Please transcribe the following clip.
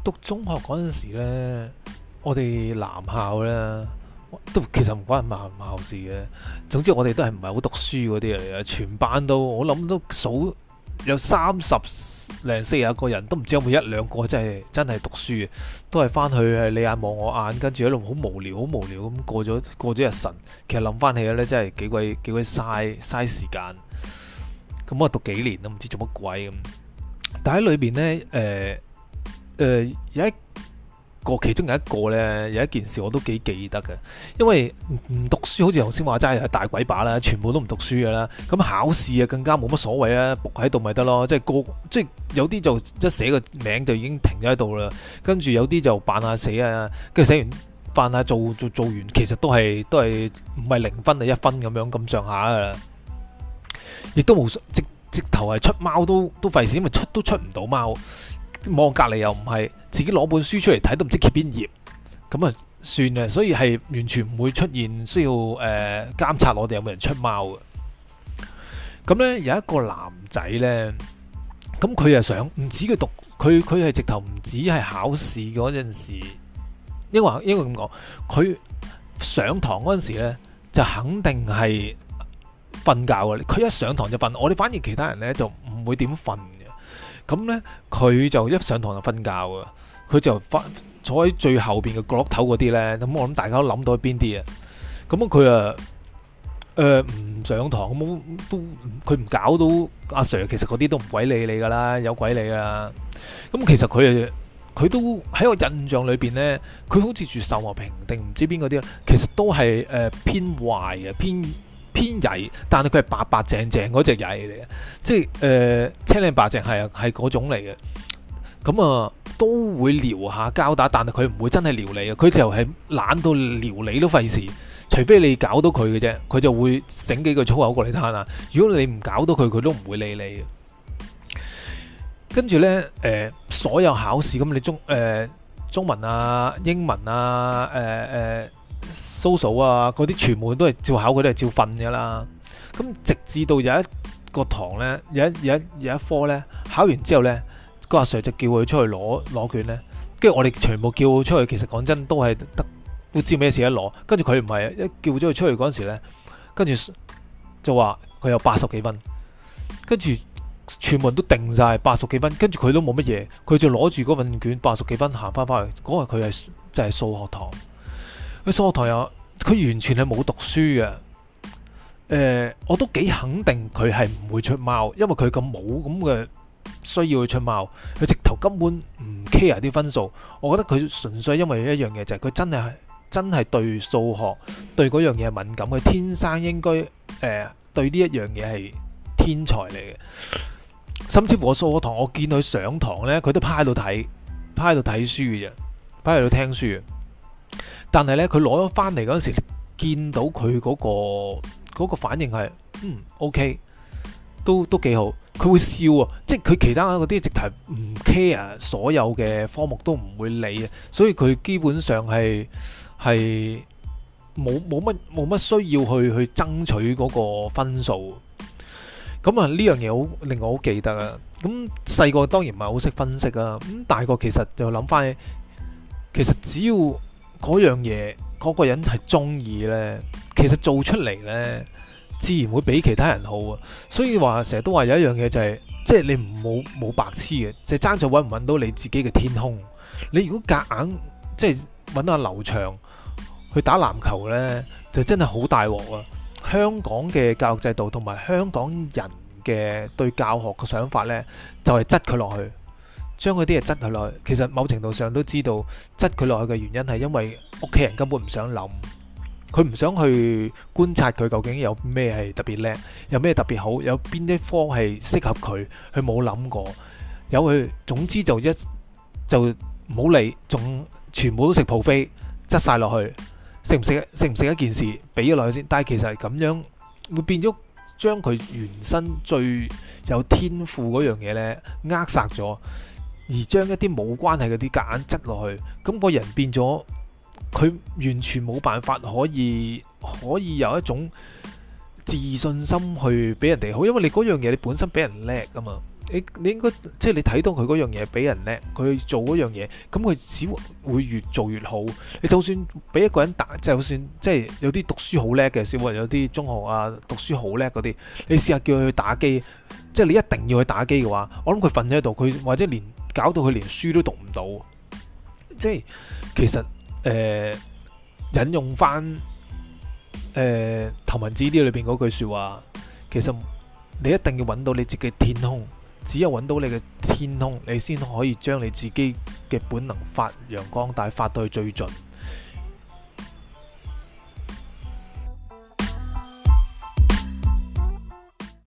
讀中學嗰陣時咧，我哋男校咧都其實唔關男校事嘅。總之我哋都係唔係好讀書嗰啲嚟嘅，全班都我諗都數有30零40個人，都唔知有冇一兩個真係讀書嘅，都係翻去係你眼望我眼，跟住一路好無聊咁過咗日神。其實諗翻起咧，真係幾鬼嘥時間。咁我讀幾年都唔知做乜鬼咁。但喺裏邊咧，有一個其中有一個咧，有一件事我都幾記得嘅，因為唔讀書好似頭先話齋係大鬼把啦，全部都唔讀書嘅啦。咁考試啊更加冇乜所謂啦，伏喺度咪得咯。即係有啲就一寫個名就已經停咗喺度啦，跟住有啲就扮下死啊，跟住寫完扮下做完，其實都係唔係0分就1分咁上下噶啦。亦都冇直頭係出貓都費事，因為都出唔到貓。望隔離又唔係，自己攞本書出嚟睇都唔知揭邊頁，咁啊算啦。所以係完全唔會出現需要監察我哋有冇人出貓嘅。咁呢，有一個男仔呢，咁佢又想唔止佢讀，佢係直頭唔止係考試嗰陣時，應該咁講，佢上堂嗰陣時呢就肯定係瞓覺嘅。佢一上堂就瞓，我哋反而其他人呢就唔會點瞓。咁呢，佢就一上堂就瞓覺啊！佢就坐喺最後邊嘅角落頭嗰啲呢。咁我諗大家都諗到邊啲啊？咁佢唔上堂咁都佢唔搞到阿 Sir，其實嗰啲都唔鬼理你噶啦，有鬼理啦！咁其實佢都喺我印象裏邊呢，佢好似住秀茂坪定唔知邊嗰啲，其實都係偏壞嘅，偏曳，但係佢係白白淨淨嗰隻曳嚟嘅，即係青靚白淨係嗰種嚟嘅。咁啊都會撩下交打，但係佢唔會真係撩你嘅，佢就係懶到撩你都費事，除非你搞到佢嘅啫，佢就會醒幾句粗口過嚟攤啊。如果你唔搞到佢，佢都唔會理你嘅。跟住呢，所有考試咁你中文啊、英文啊、social 啊嗰啲全部都係照考，佢都係照瞓噶啦。咁直至到有一個堂呢，有一科呢，考完之後呢，個阿 Sir 就叫佢出去攞卷呢。跟住我哋全部叫佢出去，其實講真都係都知咩事一攞。跟住佢唔係一叫咗佢出去嗰陣時呢，跟住就話佢有80幾分，跟住全部人都定晒80幾分，跟住佢都冇乜嘢，佢就攞住嗰份卷80幾分行翻去。嗰日佢係就係數學堂。佢數學堂佢完全係冇讀書嘅。我都幾肯定佢係唔會出貓，因為佢咁冇咁嘅需要去出貓，佢直頭根本唔 care 啲分數。我覺得佢純粹因為一樣嘢，就係佢真係對數學對嗰樣嘢係敏感，佢天生應該對呢一樣嘢係天才嚟嘅。甚至乎我數學堂我見佢上堂呢，佢都趴喺度睇書嘅啫，趴喺度聽書。但係呢，佢攞咗翻嚟嗰陣時，見到佢嗰個反應係OK，都幾好。佢會笑啊，即係佢其他嗰啲直頭唔 care，所有嘅科目都唔會理啊。所以佢基本上係冇乜需要去爭取嗰個分數。咁啊呢樣嘢好令我好記得啊。咁細個當然唔係好識分析啊。咁大個其實就諗翻起，其實只要嗰樣嘢嗰個人係中意呢，其實做出嚟呢，自然會比其他人好啊。所以話成日都話有一樣嘢就係，即係你冇白痴嘅，就係爭在揾唔揾到你自己嘅天空。你如果夾硬即係揾阿劉翔去打籃球呢，就真係好大鑊啊！香港嘅教育制度同埋香港人嘅對教學嘅想法呢，就係擠佢落去。將嗰啲嘢擠佢落去，其實某程度上都知道擠佢落去嘅原因係因為屋企人根本唔想諗，佢唔想去觀察佢究竟有咩係特別叻，有咩特別好，有邊啲科係適合佢，佢冇諗過，有佢總之就唔好理，仲全部都食 buffet，擠晒落去，食唔食一件事俾咗落去先，但係其實係咁樣會變咗將佢原身最有天賦嗰樣嘢呢扼殺咗。而將一啲冇關係嗰啲夾硬擠落去，咁個人變咗，佢完全冇辦法可以有一種自信心去俾人哋好，因為你嗰樣嘢你本身俾人叻㗎嘛， 你應該即係你睇到佢嗰樣嘢比人叻，佢做嗰樣嘢，咁佢只會越做越好。你就算俾一個人打，就算即係有啲讀書好叻嘅小朋友，有啲中學啊讀書好叻嗰啲，你試下叫佢去打機，即係你一定要去打機嘅話，我諗佢瞓喺度，佢或者搞到佢連書都讀唔到。即係其實引用翻頭文字 D 裏邊嗰句説話，其實你一定要揾到你自己天空，只有揾到你嘅天空，你先可以將你自己嘅本能發揚光大，發到去最盡。